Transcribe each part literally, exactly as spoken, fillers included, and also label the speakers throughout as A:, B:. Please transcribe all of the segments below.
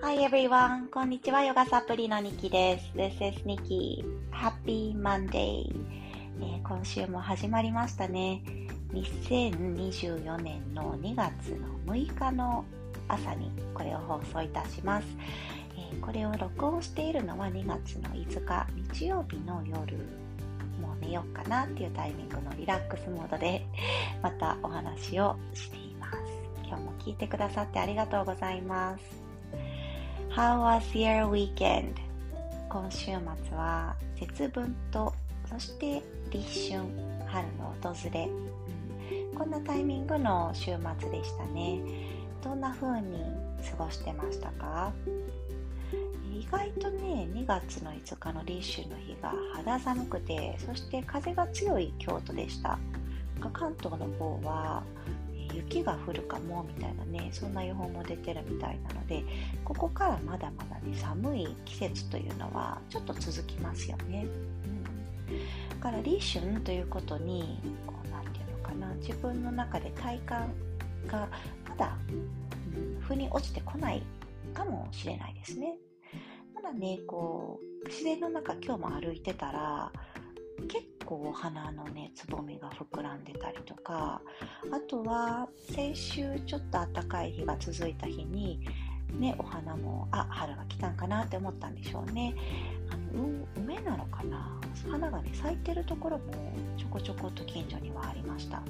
A: Hi everyone! こんにちは。ヨガサプリのニキです。This is Nikki. Happy Monday! えー、今週も始まりましたね。にせんにじゅうよねんのにがつのむいかの朝にこれを放送いたします。えー、これを録音しているのはにがつのいつか日曜日の夜。もう寝ようかなっていうタイミングのリラックスモードでまたお話をしています。今日も聞いてくださってありがとうございます。How was your weekend? 今週末は節分とそして立春、春の訪れ、うん、こんなタイミングの週末でしたね。どんな風に過ごしてましたか？意外とね、にがつのいつかの立春の日が肌寒くて、そして風が強い京都でした。関東の方は雪が降るかもみたいなね、そんな予報も出てるみたいなので、ここからまだまだね、寒い季節というのはちょっと続きますよね。うん、だから立春ということにこうなんていうのかな、自分の中で体感がまだ、うん、腑に落ちてこないかもしれないですね。ただね、こう自然の中今日も歩いてたら結構お花のねつぼみが膨らんでたりとか、あとは先週ちょっと暖かい日が続いた日にね、お花もあ春が来たんかなって思ったんでしょうね。あの梅なのかな、花がね咲いてるところもちょこちょこっと近所にはありました。うん、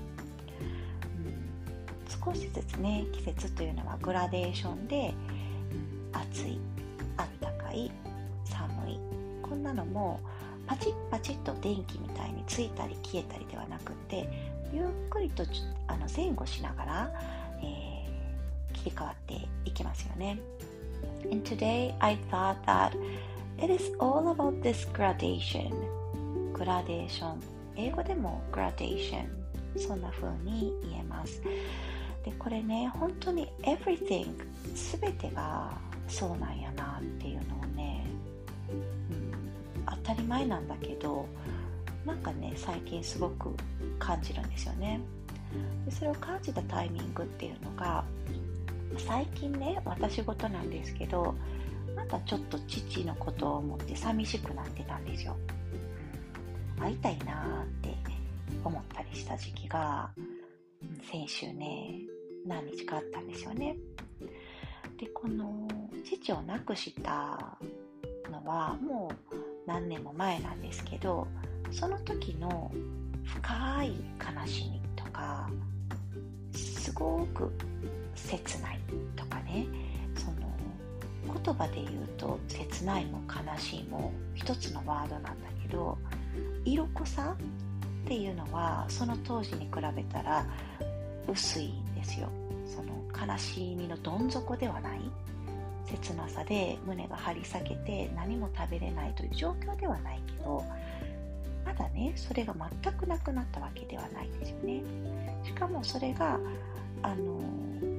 A: 少しずつね、季節というのはグラデーションで、うん、暑い、あったかい、寒い、こんなのもパチッパチッと電気みたいについたり消えたりではなくて、ゆっくりとあの前後しながら、えー、切り替わっていきますよね。And today I thought that it is all about this gradation. グラデーション、英語でも gradation、そんな風に言えます。で、これね、本当に everything すべてがそうなんやなっていうのをね、当たり前なんだけど、なんかね最近すごく感じるんですよね。でそれを感じたタイミングっていうのが、最近ね、私事なんですけど、またちょっと父のことを思って寂しくなってたんですよ。会いたいなーって思ったりした時期が先週ね、何日かあったんですよね。で、この父を亡くしたのはもう何年も前なんですけど、その時の深い悲しみとか、すごく切ないとかね、その言葉で言うと切ないも悲しいも一つのワードなんだけど、色濃さっていうのはその当時に比べたら薄いんですよ。その悲しみのどん底ではない、切なさで胸が張り裂けて何も食べれないという状況ではないけど、まだねそれが全くなくなったわけではないですよね。しかもそれがあの、うん、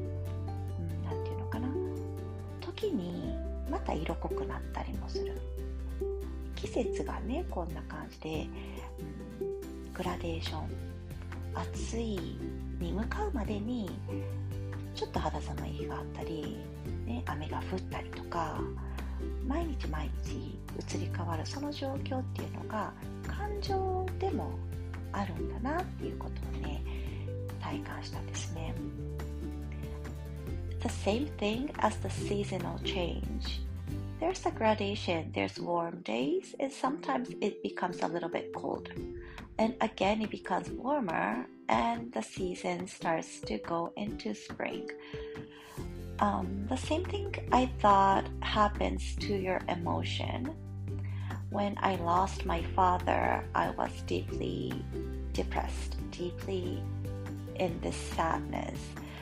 A: なんていうのかな、時にまた色濃くなったりもする。季節がねこんな感じで、うん、グラデーション、暑いに向かうまでにちょっと肌寒い日があったり、ね、雨が降ったりとか、毎日毎日移り変わるその状況っていうのが感情でもあるんだなっていうことをね体感したんですね。The same thing as the seasonal change. There's a gradation. There's warm days and sometimes it becomes a little bit colder. And again it becomes warmer and the season starts to go into spring.Um, the same thing I thought happens to your emotion. When I lost my father, I was deeply depressed, deeply in this sadness.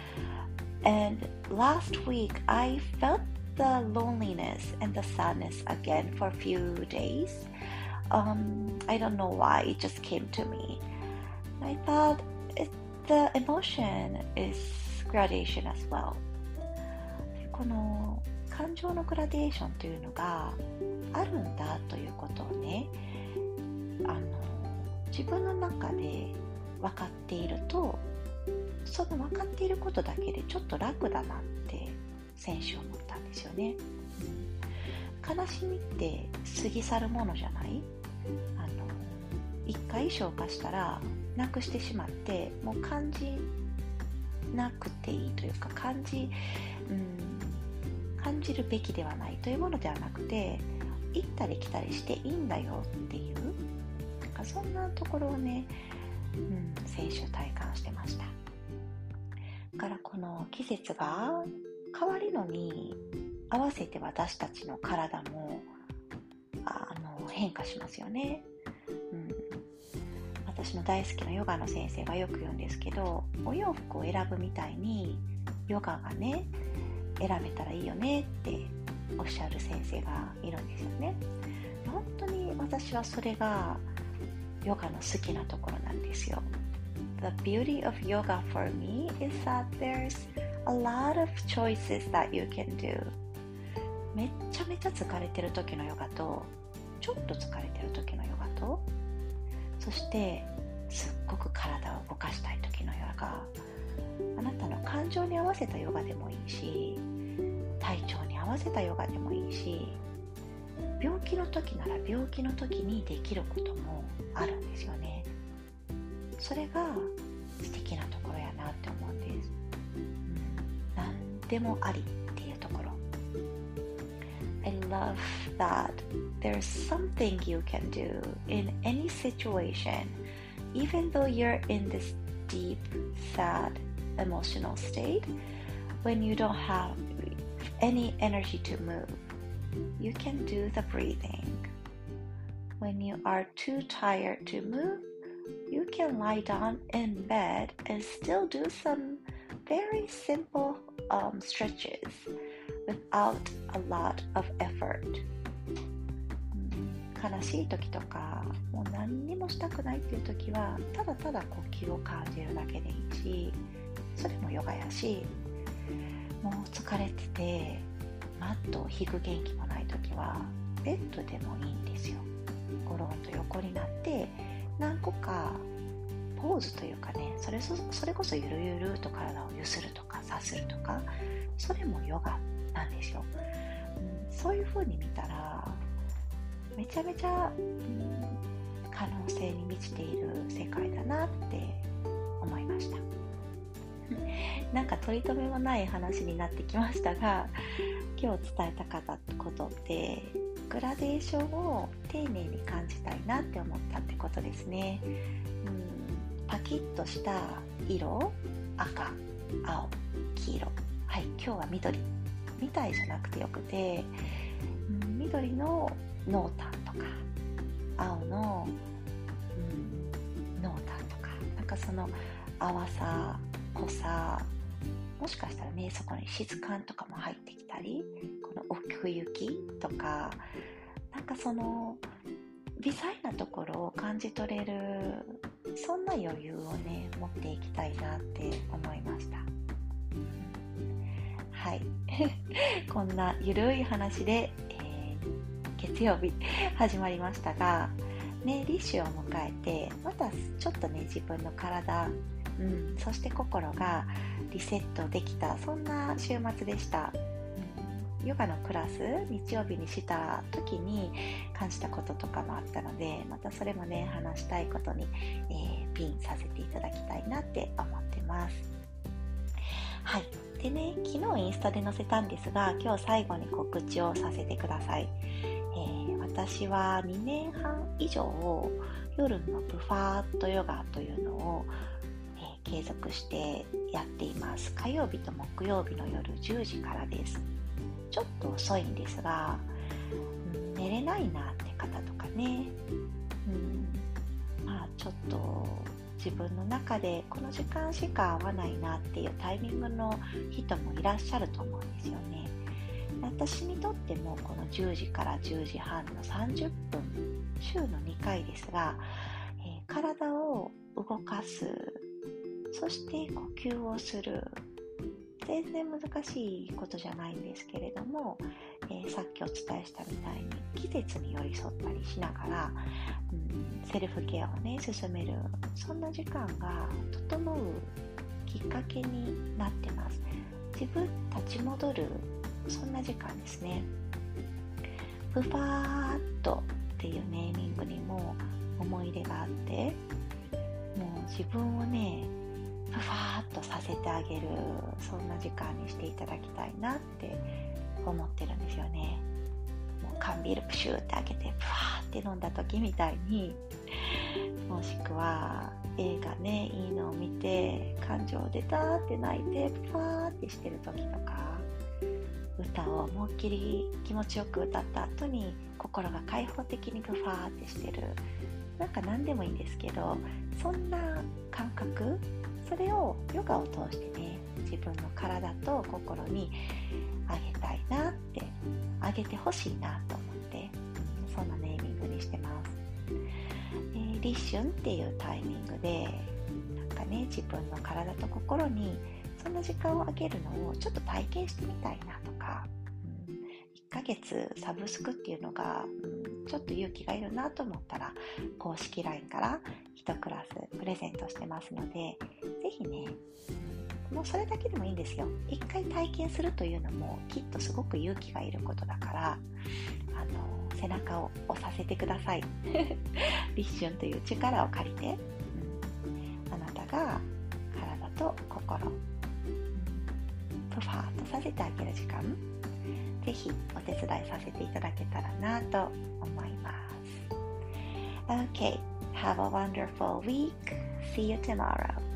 A: And last week, I felt the loneliness and the sadness again for a few days. Um, I don't know why, it just came to me. I thought it, the emotion is gradation as well.この感情のグラデーションというのがあるんだということをね、あの自分の中で分かっていると、その分かっていることだけでちょっと楽だなって先週思ったんですよね。 うん、悲しみって過ぎ去るものじゃない？あの一回消化したらなくしてしまって、もう感じなくていいというか、感じ、うん、感じるべきではないというものではなくて、行ったり来たりしていいんだよっていう、なんかそんなところをね、うん、先週体感してました。だからこの季節が変わるのに合わせて私たちの体もあの変化しますよね。うん、私の大好きなヨガの先生がよく言うんですけど、お洋服を選ぶみたいにヨガがね選べたらいいよねっておっしゃる先生がいるんですよね。本当に私はそれがヨガの好きなところなんですよ。The beauty of yoga for me is that there's a lot of choices that you can do. めっちゃめちゃ疲れてる時のヨガと、ちょっと疲れてる時のヨガと、そしてすっごく体を動かしたい時のヨガ、あなたの感情に合わせたヨガでもいいし、体調に合わせたヨガでもいいし、病気の時なら病気の時にできることもあるんですよね。それが素敵なところやなって思うんです。うん、何でもありっていうところ。I love that there's something you can do in any situation, even though you're in this deep, sad, emotional state, when you don't have any energy to move. You can do the breathing. When you are too tired to move, you can lie down in bed and still do some very simple um, stretches without a lot of effort. 悲しい時とか、もう何にもしたくないっていう時は、ただただ呼吸を感じるだけでいいし、それもヨガやし、もう疲れててマットを引く元気もないときはベッドでもいいんですよ。ゴロンと横になって何個かポーズというかね、それそ、それこそゆるゆると体をゆするとかさするとか、それもヨガなんですよ。うん、そういう風に見たらめちゃめちゃ、うん、可能性に満ちている世界だなって思いました。なんか取り留めもない話になってきましたが、今日伝えたかったことってグラデーションを丁寧に感じたいなって思ったってことですね。うん、パキッとした色、赤、青、黄色、はい、今日は緑みたいじゃなくてよくて、うん、緑の濃淡とか青の、うん、濃淡とか、なんかその淡さ、濃さ、もしかしたらね、そこに質感とかも入ってきたり、この奥行きとか、なんかその微細なところを感じ取れる、そんな余裕をね持っていきたいなって思いました。はいこんなゆるい話で、えー、月曜日始まりましたがね、立秋を迎えてまたちょっとね自分の体、うん、そして心がリセットできた、そんな週末でした。うん、ヨガのクラス日曜日にした時に感じたこととかもあったので、またそれもね話したいことに、えー、ピンさせていただきたいなって思ってます。はい。でね、昨日インスタで載せたんですが、今日最後に告知をさせてください。えー、私はにねんはん以上夜のブファーットヨガというのを継続してやっています。火曜日と木曜日の夜じゅうじからです。ちょっと遅いんですが、うん、寝れないなって方とかね、うん、まあちょっと自分の中でこの時間しか合わないなっていうタイミングの人もいらっしゃると思うんですよね。私にとってもこのじゅうじからじゅうじはんのさんじゅっぷん、週のにかいですが、えー、体を動かす、そして呼吸をする、全然難しいことじゃないんですけれども、えー、さっきお伝えしたみたいに季節に寄り添ったりしながら、うん、セルフケアをね進める、そんな時間が整うきっかけになってます。自分立ち戻る、そんな時間ですね。 フファーっとっていうネーミングにも思い入れがあって、もう自分をねフファーっとさせてあげる、そんな時間にしていただきたいなって思ってるんですよね。もう缶ビールプシューって開けてフワーって飲んだ時みたいに、もしくは映画ね、いいのを見て感情出たって泣いてフワーってしてる時とか、歌を思いっきり気持ちよく歌った後に心が開放的にフワーってしてる、なんか何でもいいんですけど、そんな感覚、それをヨガを通してね、自分の体と心にあげたいなって、あげてほしいなと思って、そんなネーミングにしてます。えー、立春っていうタイミングでなんかね、自分の体と心にそんな時間をあげるのをちょっと体験してみたいなとか、うん、いっかげつサブスクっていうのが、うん、ちょっと勇気がいるなと思ったら、公式 ライン からいちクラスプレゼントしてますので、ぜひね、もうそれだけでもいいんですよ。一回体験するというのもきっとすごく勇気がいることだから、あの背中を押させてください。立春という力を借りて、うん、あなたが体と心、うん、プファーっとさせてあげる時間、ぜひお手伝いさせていただけたらなと思います。Okay, have a wonderful week. See you tomorrow.